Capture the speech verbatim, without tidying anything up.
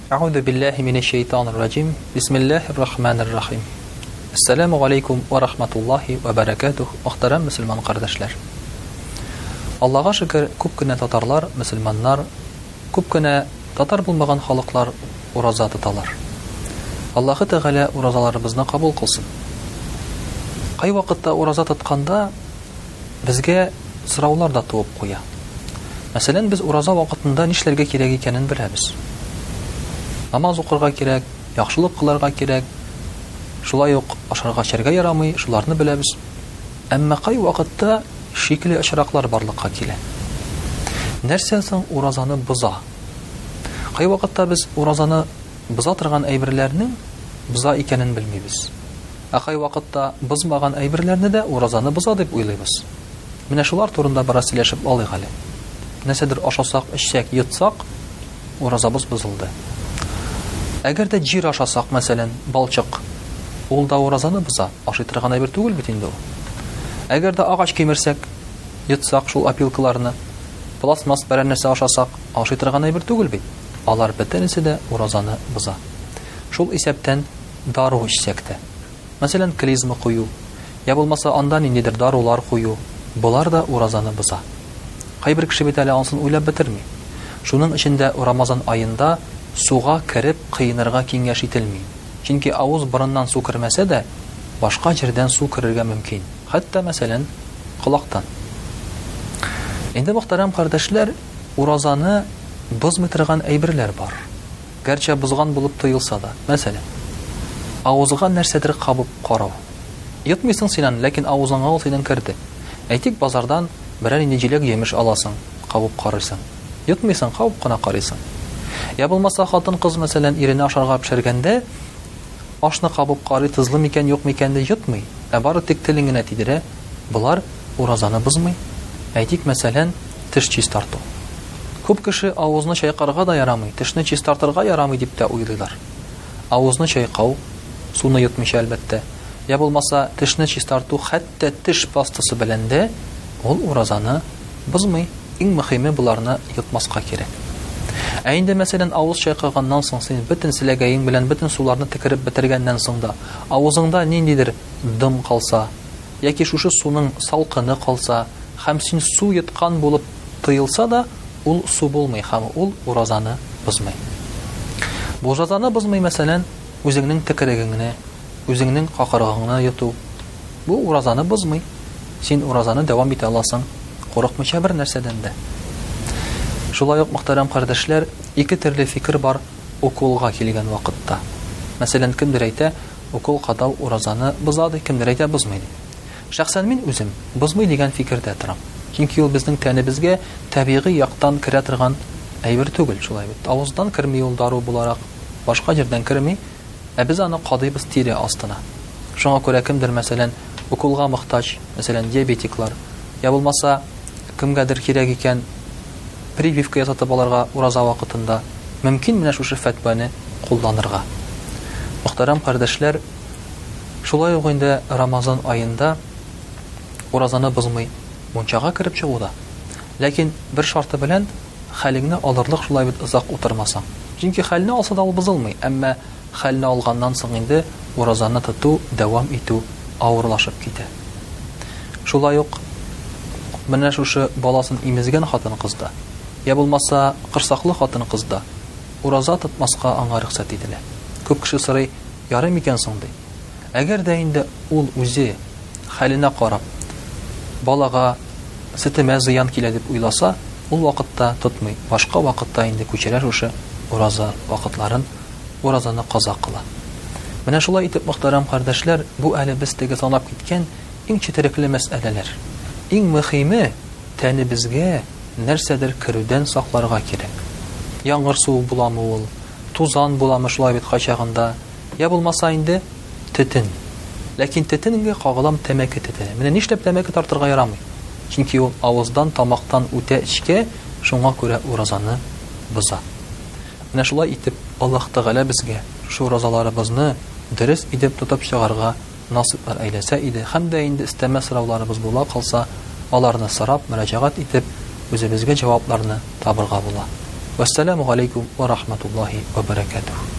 Аузу биллахи минеш шайтанир раджим. Бисмиллахир рахманир рахим. Ассаламу алейкум ва рахматуллахи ва баракатух. Мөхтәрәм мөселман кардәшләр. Аллаһка шөкер, күп кенә татарлар, мөселманнар, күп кенә татар булмаган халыклар ураза тоталар. Аллаһы Тәгалә уразаларыбызны кабул кылсын. Кай вакытта ураза тотканда безгә сораулар да туып куя. Мәсәлән, без ураза вакытында нишләргә кирәк икәнен беләбез. Намаз укырга кирәк, яхшылык кылырга кирәк. Шулай ук ашарга эчәргә ярамый, шуларны беләбез. Әмма кай вакытта шикле очраклар барлыкка килә. Нәрсә соң уразаны боза? Кай вакытта без уразаны боза торган әйберләрнең боза икәнен белмибез. Ә кай вакытта бозмаган әйберләрне дә уразаны боза дип уйлыйбыз. Менә шулар турында бераз сөйләшеп алыйк әле. Нәрсәдер ашасак, эчсәк, йотсак, уразабыз бозылды. Әгәр дә җир ашасак, мәсәлән, балчык, ул да уразаны боза, ашый торган әйбер түгел бит инде ул. Әгәр дә агач кимерсәк, йотсак шул опилкаларны, пластмасс бер нәрсә ашасак, ашый торган әйбер түгел бит. Алар бөтенесе дә уразаны боза. Шул исәптән дару эчсәк тә, мәсәлән, клизма кую, я булмаса анда ниндидер дарулар кую, булар да уразаны боза. Кайбер кеше бит әле ансын уйлап бетерми. Шуның эчендә Рамазан айында суга кереп кыйнырга киңәш ителми. Чөнки авыз борыннан су кермәсә дә, башка җирдән су керергә мөмкин. Хәтта мәсәлән, колактан. Инде мөхтәрәм кардәшләр, уразаны бозмый торган әйберләр бар. Гәрчә бозган булып тоелса да, мәсәлән, авызга нәрсәдер кабып карау. Йотмыйсың синен, ләкин авызыңа ул синең керде. Әйтик, базардан берәр инде җиләк җимеш аласың, кабып карыйсың. Йотмыйсың, кабып кына карыйсың. Я булмаса хатын-кыз мәсәлән ирене ашарга пешергәндә, ашны кабып карый, тызлы микән, юк микән дә йотмый. Ә бары тик телен генә тидерә. Булар уразаны бозмый. Әйтик, мәсәлән, теш чистарту. Күп кеше авызны чайкарга да ярамый, тешне чистартырга ярамый дип тә уйлыйлар. Авызны чайкау, суны йотмыйча әлбәттә. Я булмаса тешне чистарту хәтта теш пастасы белән дә ул уразаны бозмый. Иң мөһиме буларны йотмаска кирәк. Ә инде мәсәлән авыз чайкаганнан соң син бөтен силәгәең белән бөтен суларны тикереп бетергәннән соң да авызыңда ниндидер дым калса, яки шушы суның салкыны калса, һәм син су йоткан булып тоелса да, ул су булмый һәм ул уразаны бозмый. Бу уразаны бозмый мәсәлән үзеңнең тикерегеңне, үзеңнең какырыгыңны йоту. Бу уразаны бозмый. Син уразаны дәвам итә аласың, курыкмыйча бер нәрсәдән дә. Шулай ук мөхтәрәм кардәшләр, ике төрле фикер бар укулга килгән вакытта. Мәсәлән, кемдер әйтә, укул кадау уразаны бозады, кемдер әйтә бозмый. Шәхсән мин үзем бозмый дигән фикердә торам. Чөнки ул безнең тәнебезгә табигый яктан керә торган әйбер түгел, шулай бит. Авыздан керми ул дару буларак, башка җирдән керми, ә без аны кадыйбыз тире астына. Шуңа күрә кемдер мәсәлән укулга мохтаҗ, мәсәлән диабетиклар, я булмаса кемгәдер кирәк икән прививка ясатып аларга ураза вакытында мөмкин менә шушы фәтваны кулланырга. Мөхтәрәм кардәшләр, шулай ук инде Рамазан айында уразаны бозмый мунчага кереп чыгуда. Ләкин бер шарты белән хәлеңне алырлык шулай бит озак утырмасаң. Чөнки хәлне алса да ул бозылмый, әмма хәлне алганнан соң инде уразаны тоту, дәвам итү авырлашып китә. Шулай ук менә шушы баласын имезгән хатын-кызда, я булмаса кырсаклы хатын-кызда ураза тотмаска аңа рөхсәт ителә. Күп кеше сорый, ярый микән соң ди. Әгәр дә инде ул үзе хәленә карап балага сетемә зыян килә дип уйласа, ул вакытта тотмый. Башка вакытта инде күчерә шушы ураза вакытларын, уразаны каза кыла. Менә шулай итеп, мөхтәрәм кардәшләр, бу әле без теге санап киткән иң четерекле мәсьәләләр. Иң мөһиме тәнебезгә нәрсәдер керүдән сакларга кирәк. Яңгыр суы буламы ул, тузан буламы шулай бит качагында, я булмаса инде тетен. Ләкин тетенгә кагылам тәмәке тетене. Менә нишләп тәмәке тартырга ярамый? Чөнки ул авыздан, тамактан үтә эчкә, шуңа күрә уразаны боза. Менә шулай итеп Аллаһ Тәгалә безгә шу уразаларыбызны дөрес итеп тотып чыгарга насыйплар әйләсә иде. Һәм дә инде истәмә сорауларыбыз була калса, аларны сорап, мөрәҗәгать итеп, үзебезгә җавапларны табырга була. Вассаламу алейкум ва рахматуллахи ва баракатух.